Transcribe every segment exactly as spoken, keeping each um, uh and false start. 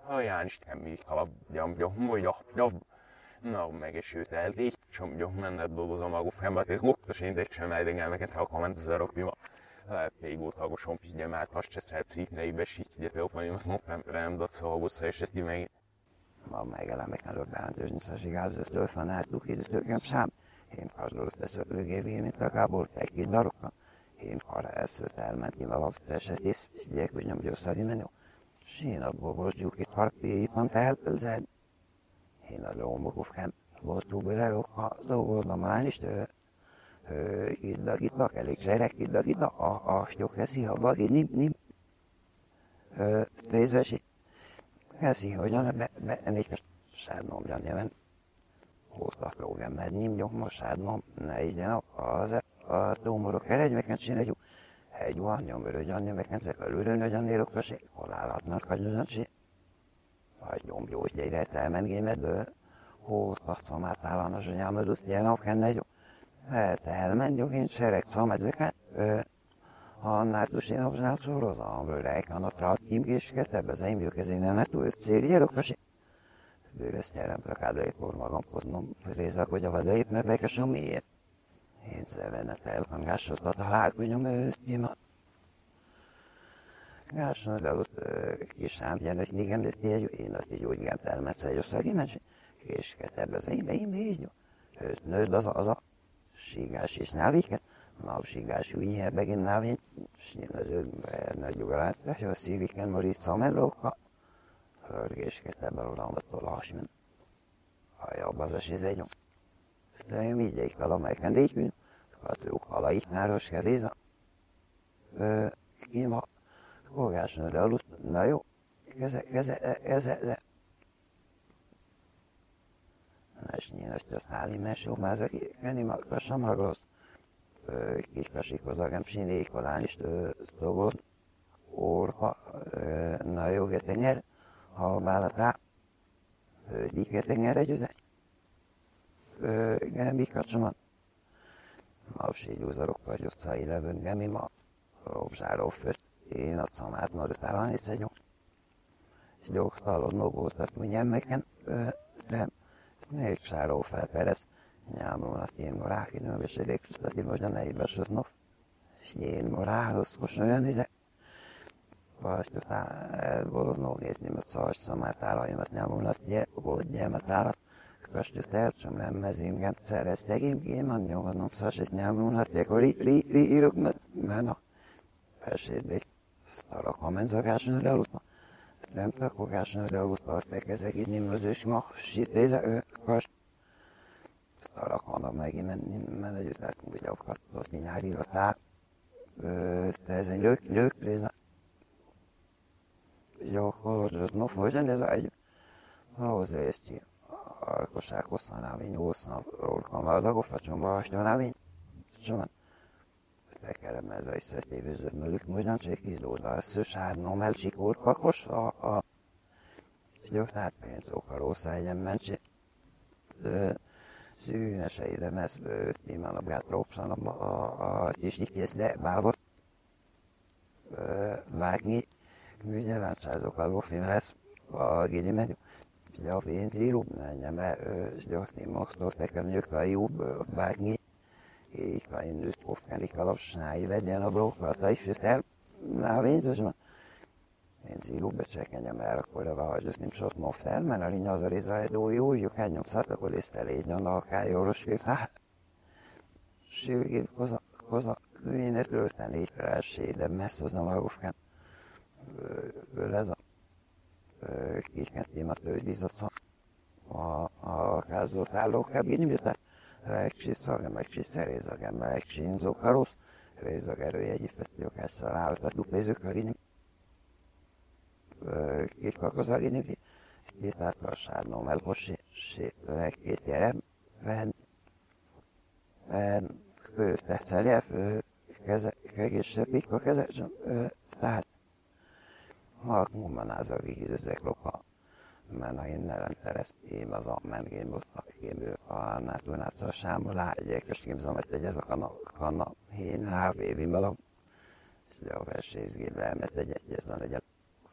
olyan is semmi kalapjam, hogy a no, megesőtelték, hogy mennek dolgozom a gufámban, és goktos én sem eldengelmeket, ha komment az arokbima. Még volt hagosom, hogy már azt se szeretsz ne ibesít, hogy van, hogy nem rám dat szolgozza, és ezt meg. Ma megelemek nagyobb beállítőznyszasi gázötől fanáltuk időtökem szám. Én kazdolott a szöplőgévé, mint a gábor, egy-két darokkal. Én arra elszőtt elmenni valakit esetész, és gyek, hogy nem győszari menő. Én abból bozdjuk itt harpi, pont elzed. Én a lómokufkám, voltunk bőlerokkal, dolgozom a lány is, Kidda-kidda, elég zserek, kidda-kidda, a astyok eszi, ha bagi, nim, nim. Trézesi, eszi, hogyan, be, ennék sádnom, gyanjeven. Hóztak lógem, mert nim, gyom, sádnom, ne igyen, az a tómorok eredmeken csináljuk. Egy van, nyomörő, gyanjeveken, zekelőrő, nagyanérok, kösé, halálhatnak, kagyozancsi. Vagy gyomgyógygyegyre elmengémet, hóztak szamát állanos, hogy elmödött, ilyen akenne, jó. Hát elmentjük, én sereg szamezeket, ha nátus én obzsált sorozom, rejkan a trattim késket, ebbe az én bőkezénen ne túl célgyerok, és bőrözt nyelem plakádra éppor magamkodnom, rézak, hogy a vadlép, mert bekesom miért. Én zevenet elkangásot a találkonyom ősztima. Gásson előtt kis számgyen, hogy négem, de tényleg én azt így úgy gem elmetszely, hogy szagi mencs, késket ebbe az én, én így, őt nőd az az a Sigás és náviket, napsigás újjel begint návén, snilazőkbe nagy ugráltás, a szíviken Maritza mellóka, hörgésket ebben odamatól hasmen. Hajabb az a sizegyom. De én vigyeik fel a megkendékünk, katlók halaik náros kevéza. Kima, kogásnőre aludt, na jó, keze, keze, keze, de. Nesnyínes, hogy a sztáli mesómázak, kenni magkasam raglasz. Kiskasikozzagem sinék alán is sztogot, orha, na jó, getenger, ha bálatá, diketenger együze. Gemi kacsomat. Mavsi gyúzarok vagy utcai levőn, gemi ma, robzsáró főt, én a szamát maradtálán is egy és gyógtalod nogótat, mindjárt megen, de még sáró felperez, nyámolnak én morák, én és elégtudati, hogy a nejébe sötnov, és én moráloszkos olyan izé. Vagy után elbolodnó nézni, mert szarcs szamát állajomat nyámolnak, volt gyelmet állat, köstőt elcsom nem mezingem, szereztek én géman, nyomvanom szarcsit nyámolnak, akkor ri írok, mert a felséddék, sztarak a menzagásnőre aludva. Nem takogásnőre aludva, hogy ezek így nimözős ma, sitréze, ő, kast. Sztarak vannak megint menni, mert együtt látunk, hogy akadt, nyári latá. De ez egy lők, lőkréze. Jó, kolozsot, no, hogyan ez egy lózrészti. Arkosság hosszanávén, hosszan, rólkamardagok, facsomba, hastyonávén. Csomán. Tekerem ez a összetévőző mölük, hogyan cséki lóda, ez szősádnom el csikót pakos, a, a, jó, tehát pénzók a rossz egyen mencsi. Szűnese ide mezbőt, nyilván a gát próbszan a kis nyikész, de bávot. Vágni, műgyelántságok a lófin lesz, a gini menü. Ugye a pénzírub, menjem el, gyorzni mosztot, nekem jök a jobb, vágni. Így van, én őt pofkánik alapsnái, vegyen a brókrat, és őt el, na a pénzes van. Én zílúbe csekenjem el, akkor a hogy nem sot moft el, mert a linya az a rézrajdó jó, jó, hát nyomszat, akkor lészte légy, a kájóros fél, hát. Sírgév, koza, koza, kőénet lőten létre elsé, de messz az a magofkán. Ből ez a kisként témat lődizatszak. A kázott állókább, így miután Rekcsiszaga, megcsiszte rézagem, megcsinzók a rossz, rézag erője egyifetők ezzel állt a duplézők a ginim. Kikak a ginim, két átlasádnom elhossi, két gyerem, ven, ven, kőt tecelje, keze, kegészsebb, pikka keze, tehát, mag mumanázag időzek loka. Mert én nelenteres, én az a mengén voltak, én a nátulnáccal sámba lágyek, és képzelmet egy ez a kanna, én hávévi malam, és a versészgébe elmet egy egyezzen egyet,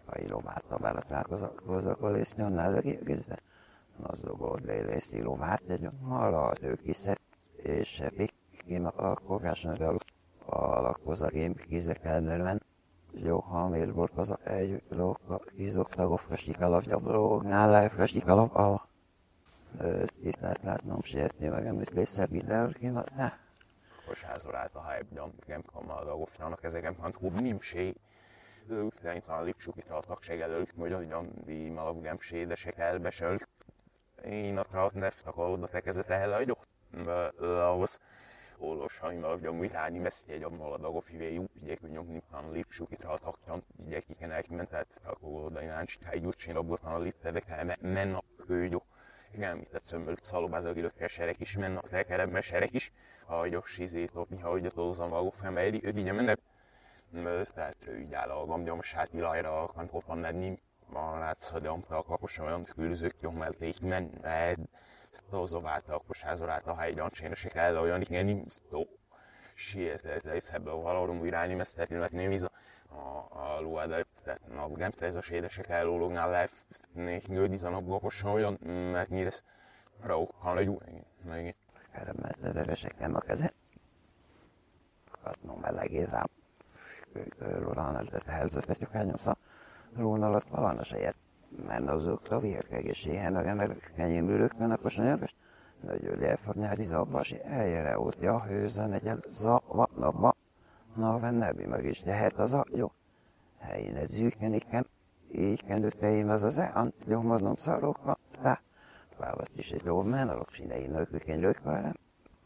Kai lovát bele kozakolisztni, onnan az egészet. Az dolgot leélészi lovát, egy arra ő kiszed, és sepik, kim a kokásnak a lakkozagém kizekelnően. Jó, ha miért volt az egy lóka kizoktagov kastikalav, gyablógnál lehet kastikalav, a itt lehet látnom sietni, meg amit lészebb ide, kim ne. Kosházor állt a hype, nem kamal a goftának ezeken pont húbb nimsé. Ők talán lipsukitra a tagság előtt, hogy olyan di malavgám sédesek elbesölt. Én a traut neftak oda tekezett el, hogy ott lahoz. Olos, ha ima ugye úgy hányi mesztje egy abban a dagok fivé jó, ugye hogy nyomni lipsukitra a tagjan, ugye kiken mentet, akkor oda ináncs, ha egy úgysin abban a liptedek el, menna kőgyó. Igen, mit tett szömmöl szalobázak időkkel serek is, menna a tekeremben serek is, ahogy a sizét, mi ha ugye tolzom a gofem elé, ő így mennek. Tehát ő így áll a gambjomsát ilajra, kan kopan lenni, van látszadjamta a kapos olyan külözők nyommelték mennek. Tozoválta a kosházorát a helyi gyancsénesek el, olyan igen nimsztó. Sietett lesz ebből valórum irányi mesztetni, nem is a, a luada, tehát a gemte ez a sédesek ellólognál lehet nődiz a napgokosan olyan, mert mi lesz raukkal egy új, meg Keremetleresek nem a kezet. Katnom melegét rám. Lórán eltett helyzetet, hogy elnyomszak. Lón alatt valana sejet. Mert azokra vérkegéséhen, mert kenyéműrökön, akkor sanyarkas. Nagyon elfognyári zabbasi eljele ótja, hőzön egyel zava napba. Na, vennebi meg is tehet az a jó. Helyén egy zűkenikem, így kendőtteim az az ean, jó mondom szarokra, tá. Vávat is egy lóvmen, a loksinei nőkökény lőkvárem.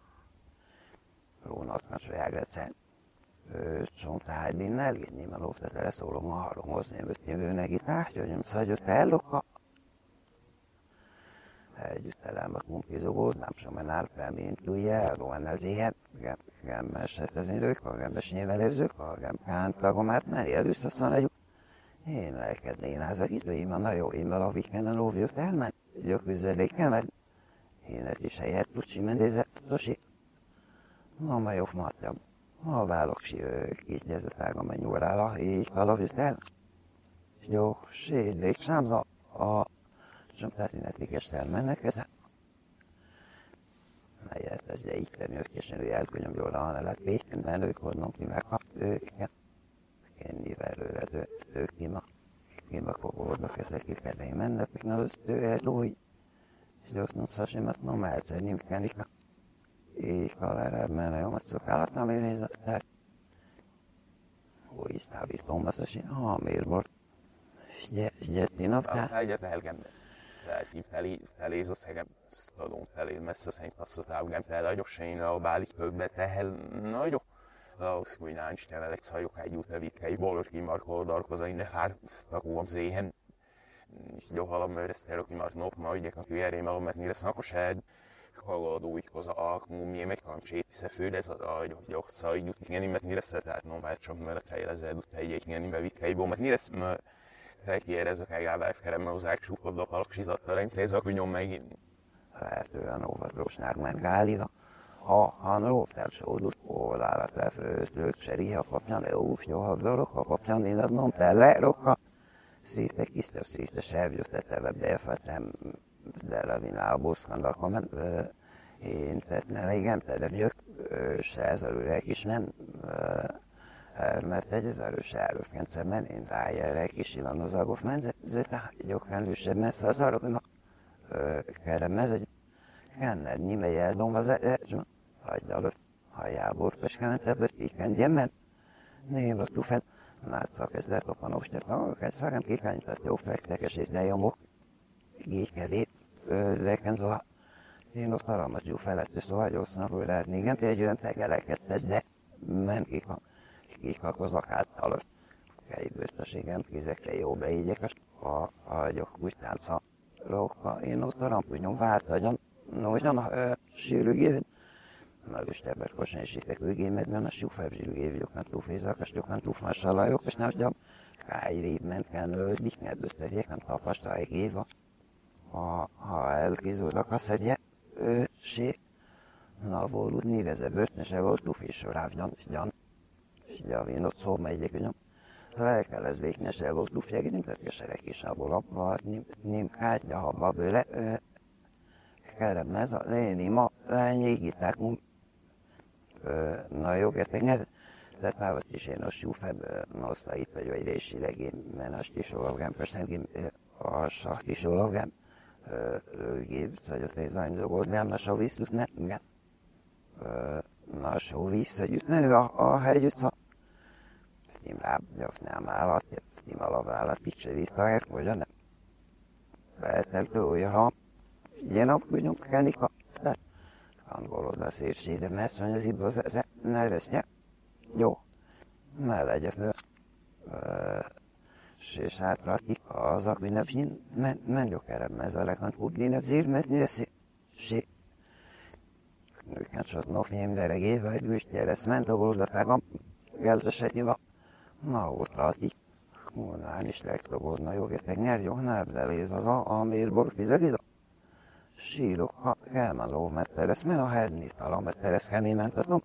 Lónatnak sajágrecen. Csomtáj dinnel, így nyilván lóftetele szólok ma halomhozni, hogy jövőnek itt átjöjjön, szagyott elloka. Együtt elem a kumpizogód, nem sem enál mint lújjel, lóan elzéhet, gem esetezni lők, a gembes nyilvelőzők, a gem kántlagomát, meri először szanadjuk. Én lelkednén házak időim, a jó immel a vikenden lóvjött elment, gyöküzzedékemet. Én egy is helyett lucsi mendézett, tosi. Na, ma jobb matjam. A váloksi kigyezett ága mennyúrála, így kalavjött el. Jó, sédlék sámza, a csomtátinetikest elmennek ezen. Melyet ez de így lemjölkésen, hogy elkönyöm jól a hanelet béken, mert ők hodnom kivágha őket. Kennivel őre ők kima. Kima kogódnak ezek itt kedvei mennek, még előtt ő egy lói. És ők nem szasimat, nem egyszer nem kenniknak. Így kalára menne jó macok állatnál még nézett. Úgy sztávít pombaszasi, ha miért volt. Gyerti napnál. Egyet elgembe. Tehát feléz a szegem, tudom, feléz messze szerint azt az elgem, tele nagyok se én a bálik kökbe, tehel nagyok. Laus, hogy náncs temelek szajok egy út evitkei, bolott kimarkol darkozain, de fár takúam zéhen. Jó halam mőresztel, aki már nop, ma ügyek a tűjerém elom, mert mire szakos egy. Kagadó így hozzá a kumie meg kam sétisze fő, de ez a gyokca így út igen, mert mire tehát no már csak mert trejlezed út egy igen, mert vitkei bó, mert mire mert elkérezek el gáváfkerem, mert hozzák súpod a palaksizattal, rentézek, hogy nyom megint. Lehetően óvatosnák ment gáliva. Ha han lóvtel sódult, ólálat lefőtt, lők seriha papjan, le úf, jó habdorok, a papjan, én adnom, tele rokka. Szíte kisztöv, szíte sevjött, tetevebb, de elfetem, de levinál buszkandak, mert én tettne igen, de vjök, se ez előre is men, mert egy az erős előfkenceben, én rájelre is ilan az agov menzete, gyokán lősebb messze az arra, hogy kerem ez egy kenned, nyime eldom az egy, hagyd előtt, hajából peskementebbet, így kendjen, mert név a tufet, látszak ez lett a panostert, egy szagám kikányított jó flektekes és de jomok, így kevét, zeken szóval, én ott aramat jó felett, szóval gyorsan fog lehetni, igen, például tegeleket tesz, de men kika, kikakozak által, kejbőtöségem, kizekre jó beígyek, a hagyok úgy tánca, lóka, én ott a rampúnyom váltagyon, hogyan a sűrűgéved, mert is tebbet kosan is ittek őgémedben, a súfább zsűrűgév, nem túlfézak, és nem túlfásalajok, és nem tudom, kájrébb ment kell nődik, mert ötleték, nem tapasztal egy éva. Ha, ha elkizódnak a szedje, ő, sé, na volt níreze bőtne se volt, lufis sorávgyan, és gyan, és gyavén ott szó megyek, hogy lejkeles béknyesel volt lufjegi, nem tett keserek is abból abban, nem kátja habba bőle, kerem ez a léni ma, lányégiták munk. Na jó, getenger, de távat is én a súfebb, noszta itt vagy vagy résilegén, men a stisologám, persze a saktisologám, lőgép, szagyot lézányzogod, nem a soviszlut, nem, nem. Na sovisz, hogy ütmenő a hegyütsz, nem lábjak, nem állat, nem alavállat, itt se visszaért, vagy nem. Beteltő olyan, ha ilyen apkúgyunk kenika, de angolod a szépségre, mert mondja az ibba az ne lesz, ne? Jó, ne legyen föl. És hátratik az akvinep, menjok erre, ez a legant kublinep zírmetni lesz, és nőket sotnok nyém, de regéve, egy güstje lesz, ment a goldatágam, geldesetni van. Na, ott rátik. Mondán is legtobodna jogetek nyer, jó, ne ebdeléz az a, amír borfizegida. Sírok, ha elmenló metteres, men a hedni talán metteres kemémentatom.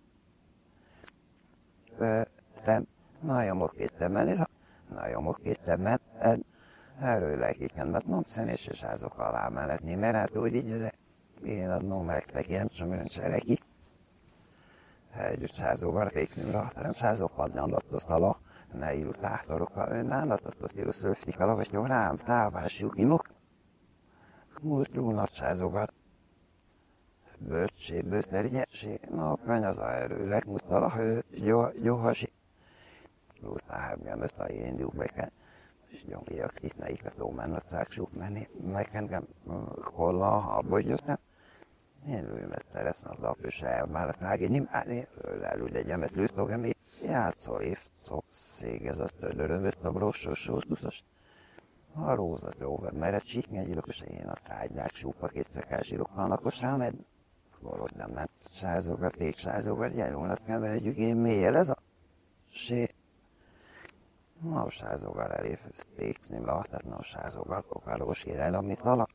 Nem, nagyon mokkéttem, men ez a, nagyon mokkéttem, men erről lekiken, mert nem szenés és házok alá melletni, mert hát úgy így ez én adnom megtek, nem csak ön cserekik. Együtt házóval fékszni, nem házok padni andatot alá. Ne íru táhtorokkal önnállatatot íru szöftikala, vagy jó rám távásjuk imok. Múlt lúnatsázogat. Böccsé, böternyesé, napkany az a erőleg mutala, hő, gyohasi. Lútáhábján öt a én gyúbeken. És gyomjak itt neiket ómennat száksuk menni, megengem kolla, ha bogyottam. Én lőmet teresznak lapős elvállalt mági, nem állni, lelül egyemet lőtogem, játszol évszok szégezett tőlörömött a brossos sortuszos. A rózat jóver, mert egy csíknyegyilok, és én a trágynák súpa kétszekás zsírok halnakos rám ed. Golod nem ment, sázogar, téksázogar, gyerúnat kell vegyük, én mélyel ez a sé. Na, a sázogar elé téksz nem láthat, na a sázogar kokálós érel, amit alap.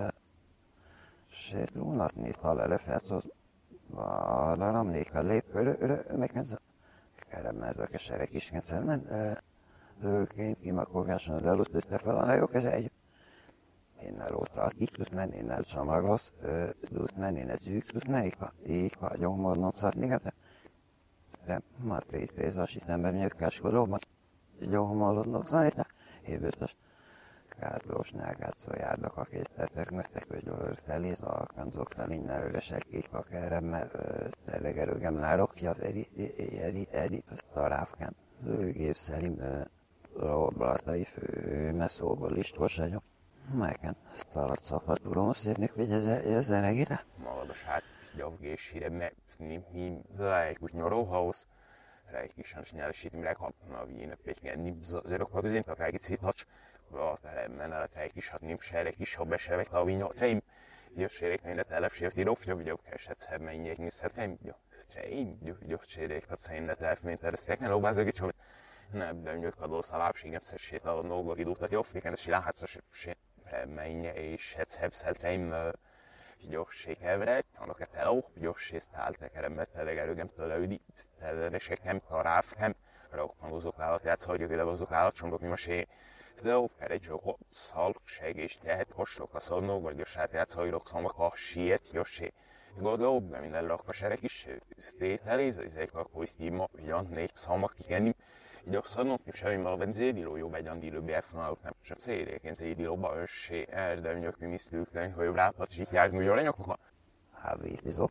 Sét lúnatni tal előfelcoz. Arra ramnék a lépő, megkensz. Kerem ez a keserek is kencelmen. Lőként kimakogáson lelutőtte fel a nagyok, ez egy. Innen rótra a kiklut menni, innen csomaglasz, lut menni, innen zűklut menni, így a gyomornom szatni, de matrét rézas, itt nem bemnyökkáskolóban, gyomorlodnok szanítá, évőtös. Kátlós nágátszó járnak, akik tettek, mögtek, hogy összeléz a kanzoknál, innen öresek, kik a kerem, telegerőgem lárokja, eri, eri, eri, taráfkán, lőgép szerim, roblatai fő, messzógol listos vagyok. Melyken talat szapatulom, szérnék, hogy ez a regére? Malados hát, gyavgés híre, mert mi lejk úgy nyoróhaus, lejk is hans nyelesít, mi leghapna, víne pétken, ni zerokva közén, akár egy szíthacs, a teremben a lejk is hatni, serek is, ha besevek, a vínyó, treim, jó serek, ne telepsért, írofja, vagy keset szemmények, nyűszhet, treim, jó, treim, jó serek, hát szerint ne telepményt, eresztek, ne lóbázok, hogy nem, de nyújt kadó szalápségem, szessét a nógok idútat, jó, fliken, és láhatszos, menje és hetszhevszelteim gyorsékevret, annak a teló, gyorsésztáltak erre telegelőgem tőleüdi, teleresekem, taráfkem, rokmanozok állat, játszhagyok, ide azok állatcsomdok, mi masé, de ó, egy zsokot, szalkség és tehet kostok a szonnók, vagy gyorsát játszhagyok, szamak a siet, gyorsé. Godó, de minden lakpaserek is, sztételéz, ezek a koisztíma, ugyan, négy szamak kikenni, így azt mondom, hogy semmi a zédiló jobb egy andilő bérfonalok, nem csak szédéken zédilóba össé, erdemnyök, misztőklen, hogy rápacsik járni, hogy aranyokba. Hávítizok.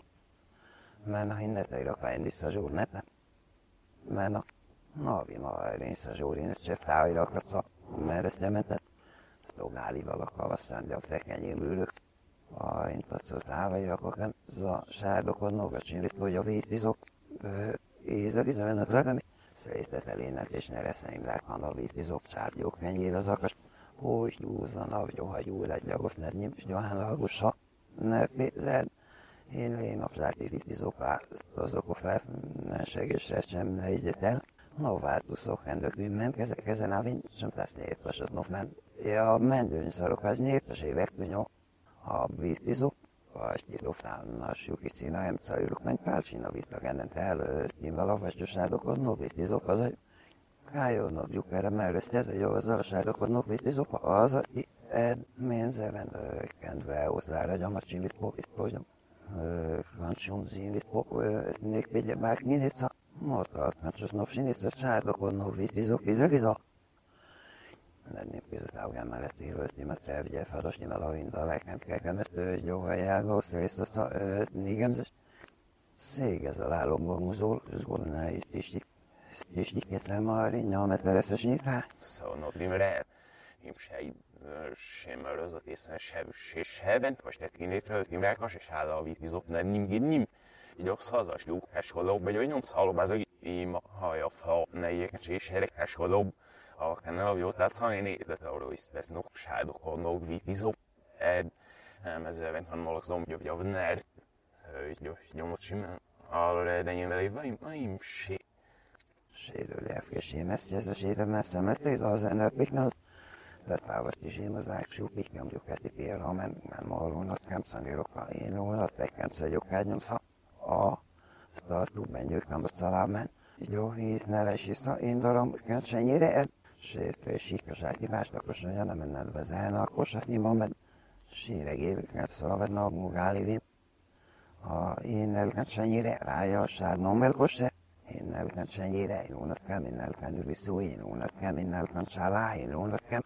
Men a hinneteira fejlesz a zsúrnete. Men a navi ma elrész a zsúrinet cseftáira akratsz, mert ezt gyementet. Logálival a kavasztán, de a tekenyén ülök. A intatszó távaira akakon, za sárdokon, nogacsinrit, hogy a vítizok. Ézagizamennek zagami. Szétet elének és ne reszeim lákan a vítizok csárgyók kenyér az akas. Hogy gyúzan, avgyó, ha gyúl egy gyagos, ne nyimps, gyohán lagussa. Ne pézed. Én lén napzáti vítizok, azok a felfennenségesre sem ne egyet el. No, változok, endökünk ment, ezek ezen a vint, sem tesz népesat, no, ment. Ja, mendőny szarok, az népes évek, nyom. A vítizok. Vagy tilofálnassuk is cínájem, cajulok, menj tálcsina vitlag ennent előtt, nyilván a vasgyosádokon, no vitizok, az egy Kájónak lyukere mellett ez a jó az alasádokodnak, hogy ez opa az, hogy ménzeven kendve hozzára, gyamar csimit povit, hogy kancsum zimit povit, nék pégye bák minica, motrat, kancsot napsinica, csádokodnak, vitizok, vizegizok. Nem közöttáugán mellett élőt, mert elvigye feladosni vele a indalák, kekemet, jó hajága, szész a négemzes. Szég ezzel állomgomuzol, és gondolná itt is és nyitva már nyelmet lesz nyitva. Szóval primre im se sem rozatészen se és heben, most egy kinétre timrákas és áll a vitizok nem nim nim. Így a szazas lúkás holóbb, vagy olyan nyomsz halóbb az ima haja fa ne ilyeket és herekás holóbb. A kanál jó tehát szani de arról is vesz nok sádokodnak vitizok. Nem ezzel van hanem zombjov javnár. Nyomot simán. Arra de én vele im se. Sérül elfkésém ezt, ez a sérem messze, mert ez az energiknál. De távat is én az áksú, piknyom gyukáti pélra, mert már marulnak, nem szanírokra én lónat, nekem szegyok ányomsza. A tartó benyők nem a szalámán. Jó, hét ne lesz vissza, én daram, kentsenyére el. Sértő és síkasági másnak osonja, nem enned vezelne, akkor satni van, mert síregévük, mert szalavedna a mugálivim. Ha én elkentsenyére rája a sárnom elkosse, én elkentsenyére, én lónatkem, én elkentőviszó, én lónatkem, én elkentsálá, én lónatkem.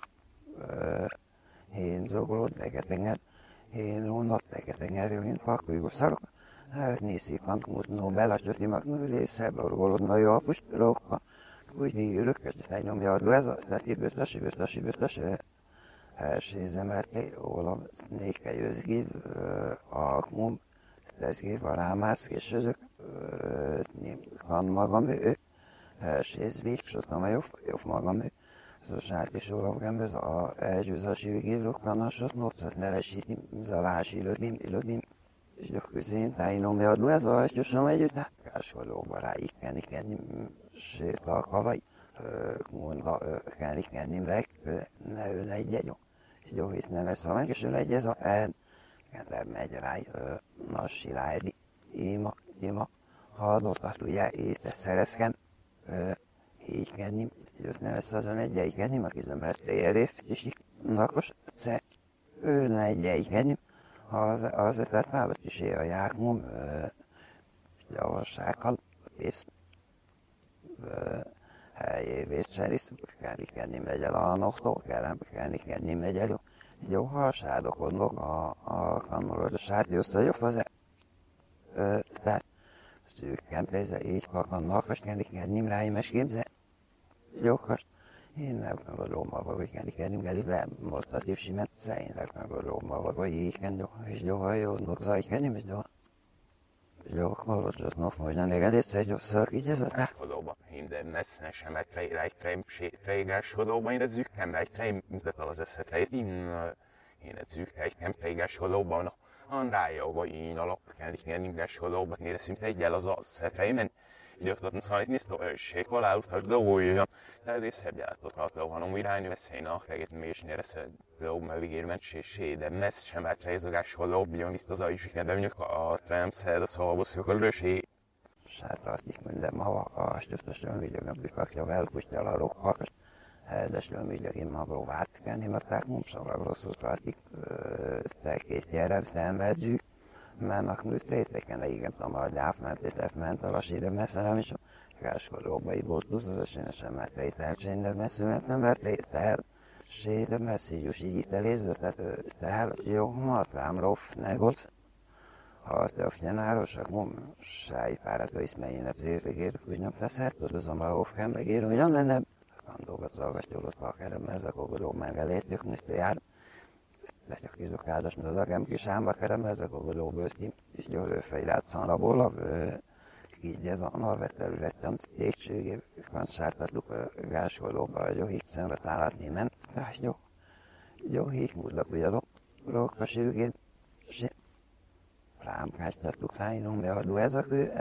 Én zogolod, legetenger, én lónat, legetenger, én fakújgó szarok. Hát nézzék, van kútnó, belasgyoti magnőlésze, borgolodna jó a puspilókba. Úgy rökkös, hogy nyomja a ez a leti bőtlös, bőtlös, bőtlös. Elsézemelt, ólam, néke jözzgív, a kmum, leszgív, a rámász, és özök. Kan magam ő, elséz végsottam a jobb, jobb magam ő. Zosát is ólavgám, ez a elgyőzási végévlők kannasot, nopszat ne lesíti, zalási löbim, löbim. És gyakorlatilag tájnom jadó, ez a hajtyosom együtt, kásolóba ráikenni, kenni, sét a kavaj, mondva, kenni, kenni, rek, ne ő legy egy, és jó, itt ne lesz a meg, és ő legy ez a el, kennem megy rá, nassi rájdi, ima, ima, ha adottat ugye, itt szerezkem, így kenni, jött ne lesz azon egy egy kenni, aki zemelt érést, és így nakos, sze, ő ne egy egy kenni, az az ötlet már is él a jákmum, javassággal, pész, helyévét szerisz, kell kennim legyel a noktól, kell kennim legyel, jó, ha a sádokodnak a, a kannorod, a sádi összejobb az tehát szűkken pléze, így kakannak, és kennim ráim, és képzel, jó, most én nem gondolom, hogy kenni kennim, elég le, most a tívsimet, én nem gondolom, hogy így kenni, és jó, ha jó, nokzaj kennim, és jó. Jó, hallottak, no, hogy nem elég egyszer, hogy szak, így ez a rá. Hodóba, minden messze sem egy trejm, trejgás hodóba, én egy zükkem, egy trejm, mutat az eszet, egy én egy zük, egy kem trejgás hodóba, an rájogva, én alap, kell is kennim gás hodóba, nére szinte egyel az az trejmen. Időktatni szóval itt nisztó ősség, valáúztak dolgoljon. Tehát ez szebb járatotható, hanem irányú veszélynak, teget mégis néresz lóbb, mert vigér mentsésé, de messz sem át rejzogás holóbb, jön viszt az ajus, de mondjuk a tremszer, a szolvoszjuk a lősé. Sátratik minden ma, a stöptösön vigyogom, bükakja velkustjal a rokkakas. Helyedeslőn vigyogim magró vátkenni, mert tehát mumszalag rosszul tartik, te két gyerek, nem vegyük. Mennek műt réteken, igen, tamar gyáfment, ment a lassíre messzerem is, káskodóba így plusz az esélyesen mert rétel, csénde messzűnet nem lett rétel, séde messzígyus így itt elézőtet, tel, jó, matrám, roff, negoc, ha te a fnyenárosak, mum, sáj párató iszmelyénebb zérvégér, úgy nem teszed, tudozom a roffkem, megér, ugyan lenne, kandógat szolgatjólott a kerem, ez a kogoló megelét, mit jár, de csak kizokádos, mert az agám kis ámba kerem, ez a kogolóból ki, és győlőfej látszan a bolav, így ez a narvet területem, tégségé, kancsártatluk gáskolóba, hogy jó híg szemre tálatni ment, de jó, jó híg múltak ugye lók a sírgén, és rám kácstatluk tájnom, beadó ez a kő,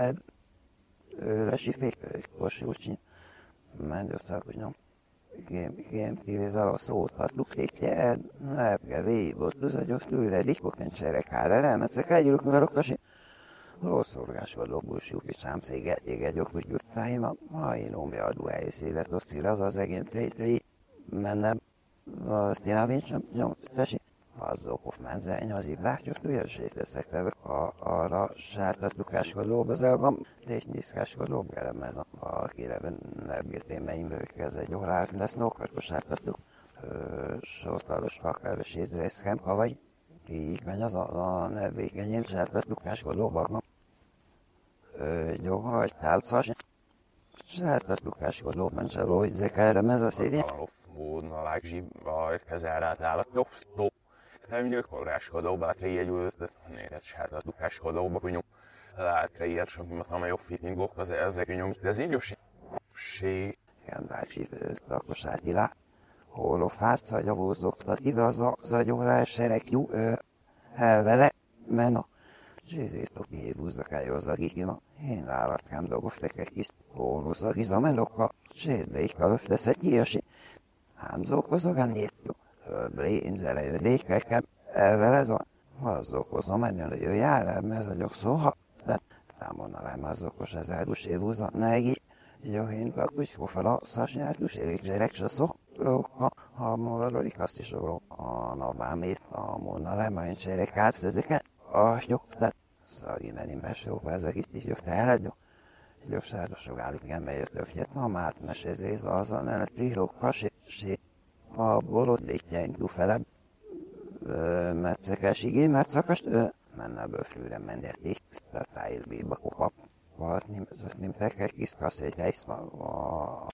ő lesifék, korsúcsin, ment összak, hogy nyom. Gém tívézal a szót adluk tétje, lepke végig, ott az agyok tőle, dikok nincserek hára, elmetszek együlök, mert oktasi. Lószorgásodó bullshit sám széget éget gyokut juttáim, ha én omja adó helyszélet, ott szíraz az egén plétli, mennem, azt én a vincsem, nyom, tesi. Azzal Hoffmann az így látjuk, hogy séteszek tevek arra sártattukáskodóba zelgam, és nyiszkáskodóba gelem ez a kireven nebgétémeimről kezd egy órát lesz, nokartos sártattuk, sortalos fakelves észreszkem, kavaj, így van az a nevvékenyém sártattukáskodóba, gyóha, vagy tálcas, sártattukáskodóban se rógyzek erre ez a széri. Módna lágzsi, a kezelrát állat, jobb, jobb. Nem gyökoráskodóba, hát jegyült, nézett sártattukáskodóba, hogy látre ilyet, sem, ha jobb fittingok, az ezek nyom, de ez így jó sé. Igen, lágzsi, lakossáti lá. Hol a fászca, gyavózoktat, igaz az a gyólás, serek, jó, vele, men a zsézét a kihívúzzak eljözzak, igima. Én lállatkám dolgoztak egy kis hóluzzak, izamenokka, zsédlékkal öfteszett gyíjasi. Hánzókozok a nét, jó. Blénzele jödékekem, vele zo, azzókozom, ennél jöjjel, ez a gyokszóha, de támonalám azzókos az eldusévúza, negi, jó, én lakus, kofala, szásnyáltus, érikzserek, se szó, lóka, ha mondadolik, azt is oró, a navámét, a monalám, én cserek átsz ezeket, a jó, de szagi menim besóba, ezek itt is jötte el, jó, jó, sárosok állik, igen, bejött öfjet, ma mát mesezéz, azon el, trilóka, sé, a bolodétjeink dufelebb, metszekes igé, mert szakast, menne bőflőre mendeték, tehát tájérbéba kopap, vagy nem tekek kis kasszét, a